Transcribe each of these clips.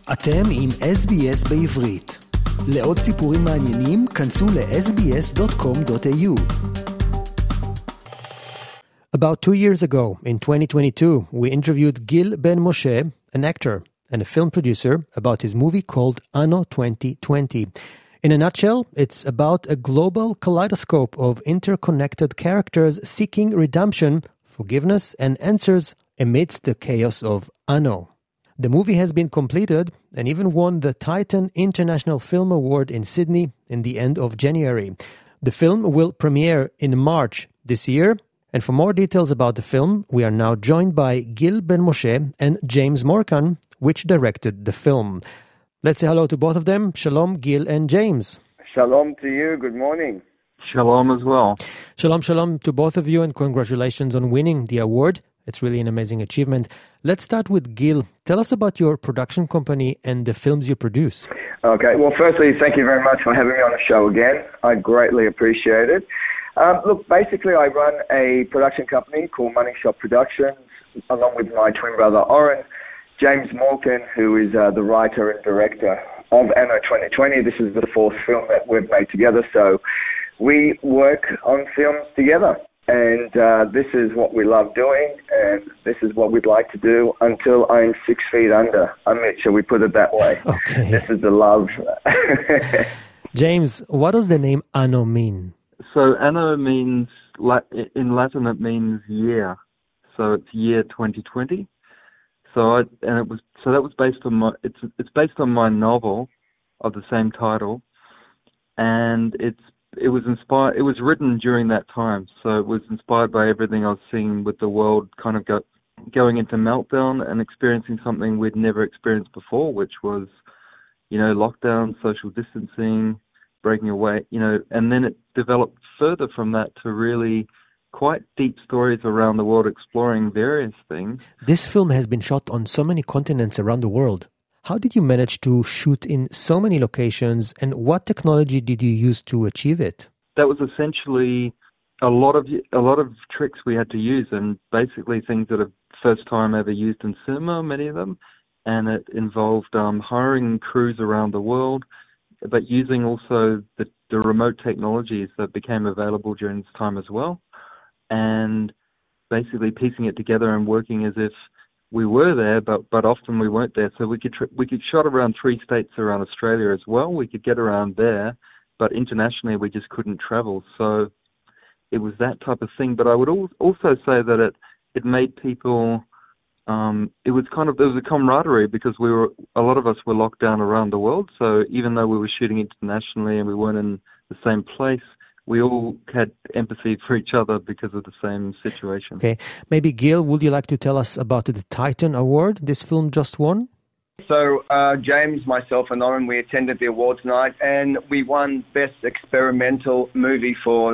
אתם עם SBS בעברית. לעוד סיפורים מעניינים, כנסו ל-sbs.com.au. About 2 years ago, in 2022, we interviewed Gil Ben Moshe, an actor and a film producer, about his movie called Anno 2020. In a nutshell, it's about a global kaleidoscope of interconnected characters seeking redemption, forgiveness, and answers amidst the chaos of Anno. The movie has been completed and even won the Titan International Film Award in Sydney in the end of January. The film will premiere in March this year. And for more details about the film, we are now joined by Gil Ben Moshe and James Morkan, which directed the film. Let's say hello to both of them. Shalom, Gil and James. Shalom to you. Good morning. Shalom as well. Shalom to both of you, and congratulations on winning the award. It's really an amazing achievement. Let's start with Gil. Tell us about your production company and the films you produce. Okay. Well, firstly, thank you very much for having me on the show again. I greatly appreciate it. Look, basically, I run a production company called Money Shot Productions, along with my twin brother, Oren. James Morkan, who is the writer and director of Anno 2020. This is the fourth film that we've made together, so we work on films together. And this is what we love doing, and this is what we'd like to do until I'm 6 feet under. Shall we put it that way? Okay. This is the love. James, what does the name Anno mean? So Anno means, in Latin it means year. So it's year 2020. So that was based on it's based on my novel of the same title, and it was written during that time, so it was inspired by everything I was seeing with the world kind of going into meltdown and experiencing something we'd never experienced before, which was, lockdown, social distancing, breaking away, and then it developed further from that to really quite deep stories around the world exploring various things. This film has been shot on so many continents around the world. How did you manage to shoot in so many locations, and what technology did you use to achieve it? That was essentially a lot of tricks we had to use, and basically things that are first time ever used in cinema, many of them, and it involved hiring crews around the world, but using also the remote technologies that became available during this time as well, and basically piecing it together and working as if we were there, but often we weren't there. So we could shot around 3 states around Australia as well. We could get around there, but internationally we just couldn't travel. So it was that type of thing. But I would also say that it made people. There was a camaraderie because a lot of us were locked down around the world. So even though we were shooting internationally and we weren't in the same place, we all had empathy for each other because of the same situation. Okay. Maybe, Gil, would you like to tell us about the Titan Award this film just won? So James, myself, and Oren, we attended the awards night, and we won Best Experimental Movie for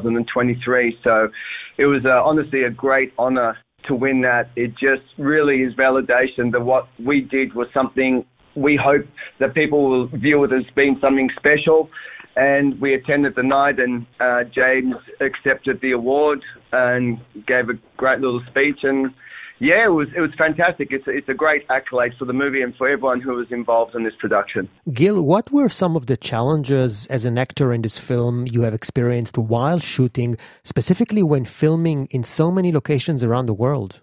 2023. So it was honestly a great honor to win that. It just really is validation that what we did was something we hope that people will view it as being something special. And we attended the night, and James accepted the award and gave a great little speech. And yeah, it was fantastic. It's a great accolade for the movie and for everyone who was involved in this production. Gil, what were some of the challenges as an actor in this film you have experienced while shooting, specifically when filming in so many locations around the world?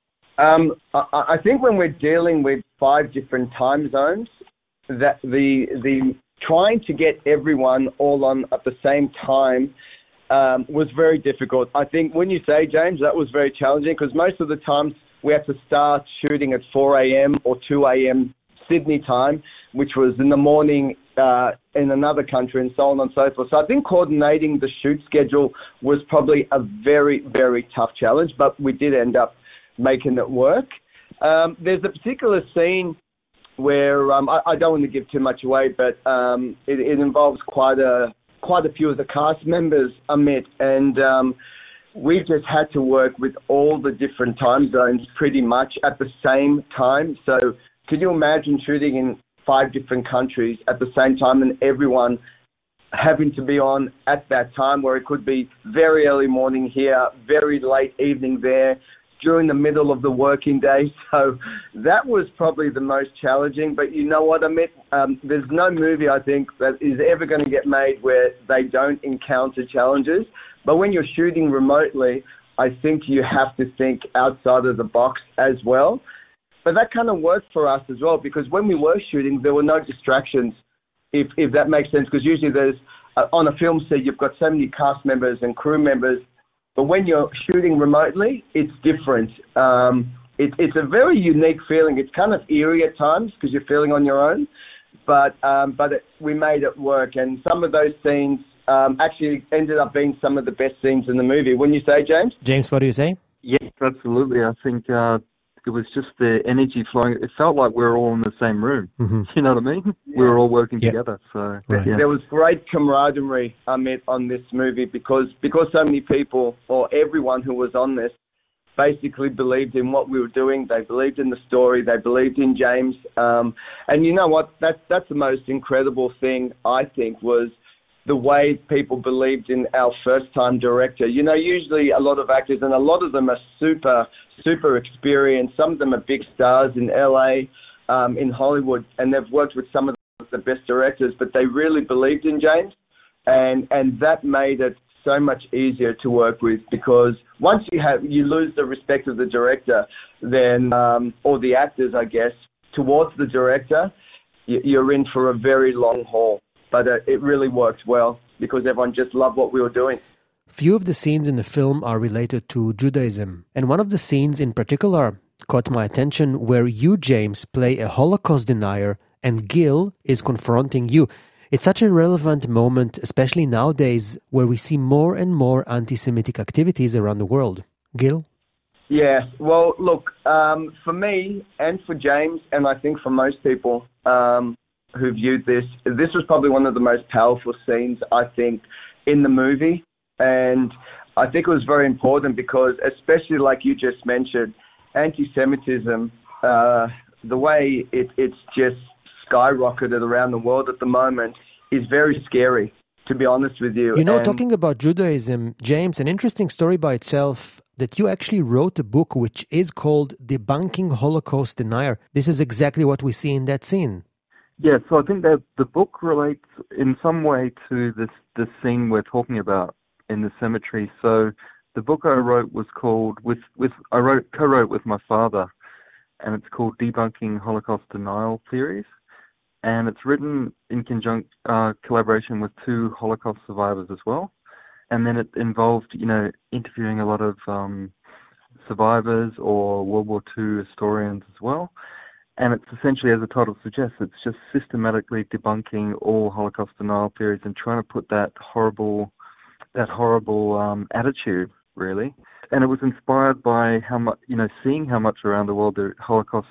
I think when we're dealing with 5 different time zones, that the trying to get everyone all on at the same time was very difficult. I think when you say, James, that was very challenging because most of the times we had to start shooting at 4 a.m. or 2 a.m. Sydney time, which was in the morning in another country and so on and so forth. So I think coordinating the shoot schedule was probably a very, very tough challenge, but we did end up making it work. There's a particular scene where I don't want to give too much away, but it involves quite a few of the cast members, Amit, and we just had to work with all the different time zones pretty much at the same time. So can you imagine shooting in 5 different countries at the same time and everyone having to be on at that time, where it could be very early morning here, very late evening there, during the middle of the working day. So that was probably the most challenging. But you know what, Amit? There's no movie, I think, that is ever going to get made where they don't encounter challenges. But when you're shooting remotely, I think you have to think outside of the box as well. But that kind of worked for us as well, because when we were shooting, there were no distractions, if that makes sense. Because usually there's, on a film set, you've got so many cast members and crew members. But when you're shooting remotely, it's different. It's a very unique feeling. It's kind of eerie at times because you're feeling on your own. But we made it work. And some of those scenes actually ended up being some of the best scenes in the movie. Wouldn't you say, James? James, what do you say? Yes, absolutely. I think it was just the energy flowing. It felt like we were all in the same room. Mm-hmm. You know what I mean? We were all working together. So right. There was great camaraderie, Amit, on this movie because so many people, or everyone who was on this, basically believed in what we were doing. They believed in the story. They believed in James. And you know what? That's the most incredible thing, I think, was the way people believed in our first-time director. You know, usually a lot of actors, and a lot of them are super, super experienced. Some of them are big stars in LA, in Hollywood, and they've worked with some of the best directors, but they really believed in James, and that made it so much easier to work with, because once you lose the respect of the director, then, or the actors, I guess, towards the director, you're in for a very long haul. But it really worked well because everyone just loved what we were doing. Few of the scenes in the film are related to Judaism. And one of the scenes in particular caught my attention where you, James, play a Holocaust denier and Gil is confronting you. It's such a relevant moment, especially nowadays, where we see more and more anti-Semitic activities around the world. Gil? Yeah, well, look, for me and for James, and I think for most people who viewed this was probably one of the most powerful scenes, I think, in the movie. And I think it was very important because, especially like you just mentioned, anti-Semitism, the way it's just skyrocketed around the world at the moment is very scary, to be honest with you. You know, talking about Judaism, James, an interesting story by itself, that you actually wrote a book which is called Debunking Holocaust Denier. This is exactly what we see in that scene. Yeah, so I think that the book relates in some way to this scene we're talking about in the cemetery. So the book I wrote was called co-wrote with my father, and it's called Debunking Holocaust Denial Theories, and it's written in collaboration with two Holocaust survivors as well. And then it involved, interviewing a lot of survivors or World War II historians as well. And it's essentially, as the title suggests, it's just systematically debunking all Holocaust denial theories and trying to put that horrible attitude, really. And it was inspired by how much, seeing how much around the world the Holocaust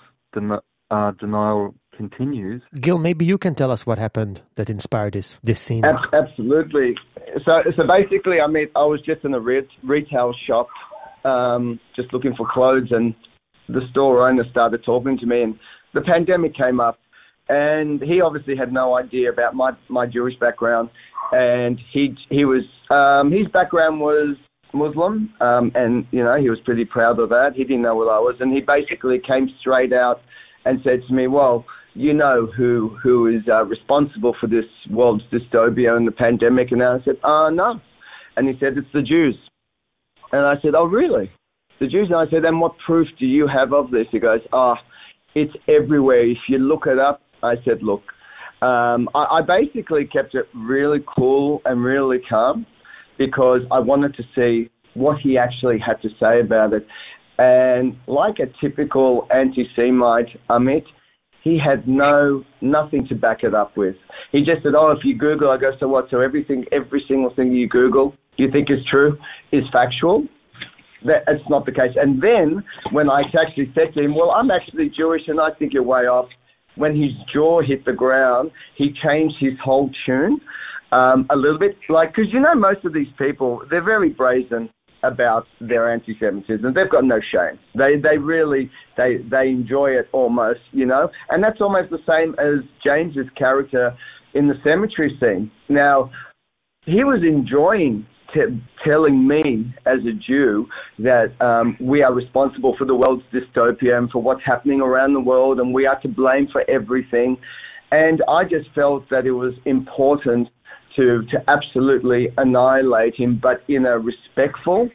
denial continues. Gil, maybe you can tell us what happened that inspired this scene. Absolutely. So basically, I was just in a retail shop, just looking for clothes, and the store owner started talking to me, and the pandemic came up, and he obviously had no idea about my Jewish background, and he was his background was Muslim, and he was pretty proud of that. He didn't know what I was, and he basically came straight out and said to me, "Well, you know who is responsible for this world's dystopia and the pandemic?" And I said, "No," and he said, "It's the Jews," and I said, "Oh, really?" The Jews, and I said, "And what proof do you have of this?" He goes, "It's everywhere. If you look it up." I said, "Look," I basically kept it really cool and really calm because I wanted to see what he actually had to say about it. And like a typical anti-Semite, Amit, he had nothing to back it up with. He just said, "Oh, if you Google," I go, "So what? So every single thing you Google, you think is true, is factual?" That's not the case. And then when I actually said to him, "Well, I'm actually Jewish and I think you're way off," when his jaw hit the ground, he changed his whole tune a little bit. Because most of these people, they're very brazen about their anti-Semitism. They've got no shame. They really enjoy it almost, And that's almost the same as James's character in the cemetery scene. Now, he was enjoying telling me as a Jew that we are responsible for the world's dystopia and for what's happening around the world, and we are to blame for everything. And I just felt that it was important to absolutely annihilate him, but in a respectful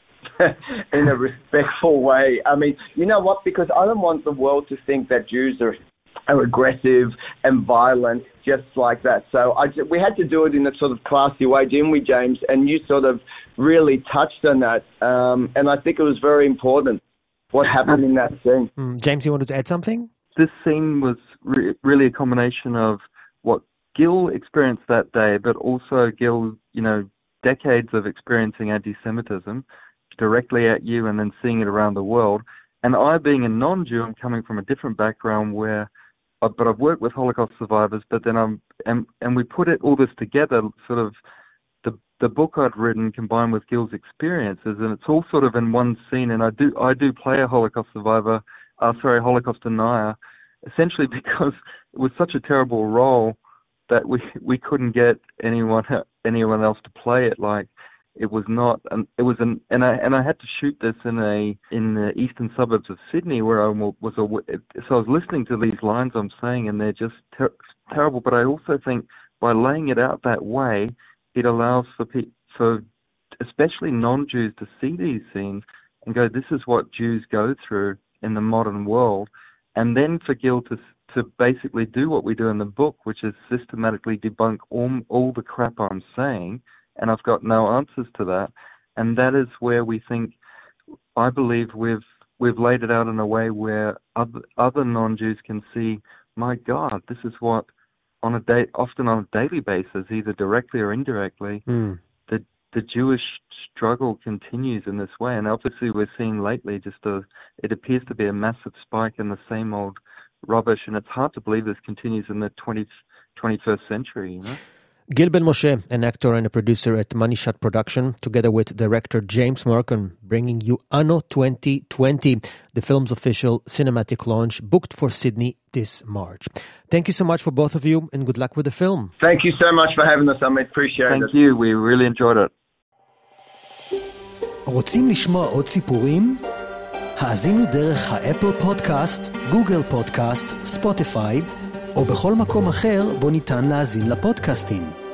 way. I mean, you know what? Because I don't want the world to think that Jews are aggressive and violent just like that. So we had to do it in a sort of classy way, didn't we, James? And you sort of really touched on that. And I think it was very important what happened in that scene. James, you wanted to add something? This scene was really a combination of what Gil experienced that day, but also Gil, decades of experiencing anti-Semitism directly at you and then seeing it around the world. And I, being a non-Jew, I'm coming from a different background but I've worked with Holocaust survivors, but then and we put all this together, sort of the book I'd written combined with Gil's experiences, and it's all sort of in one scene. And I do play a Holocaust survivor, Holocaust denier, essentially because it was such a terrible role that we couldn't get anyone else to play it. Like, it was not, and I had to shoot this in the eastern suburbs of Sydney, where I was. So I was listening to these lines I'm saying, and they're just terrible. But I also think by laying it out that way, it allows for especially non-Jews to see these scenes and go, "This is what Jews go through in the modern world," and then for Gil to basically do what we do in the book, which is systematically debunk all the crap I'm saying. And I've got no answers to that. And that is where I believe we've laid it out in a way where other non-Jews can see, my God, this is what often on a daily basis, either directly or indirectly, the Jewish struggle continues in this way. And obviously we're seeing lately it appears to be a massive spike in the same old rubbish. And it's hard to believe this continues in the 21st century, Gil Ben-Moshe, an actor and a producer at Money Shot Production, together with director James Merkin, bringing you Anno 2020, the film's official cinematic launch, booked for Sydney this March. Thank you so much for both of you, and good luck with the film. Thank you so much for having us, I appreciate it. Thank you, we really enjoyed it. רוצים לשמוע עוד סיפורים? האזינו דרך האפל פודקאסט, גוגל פודקאסט, ספוטיפיי, או בכל מקום אחר בו ניתן להאזין לפודקאסטים.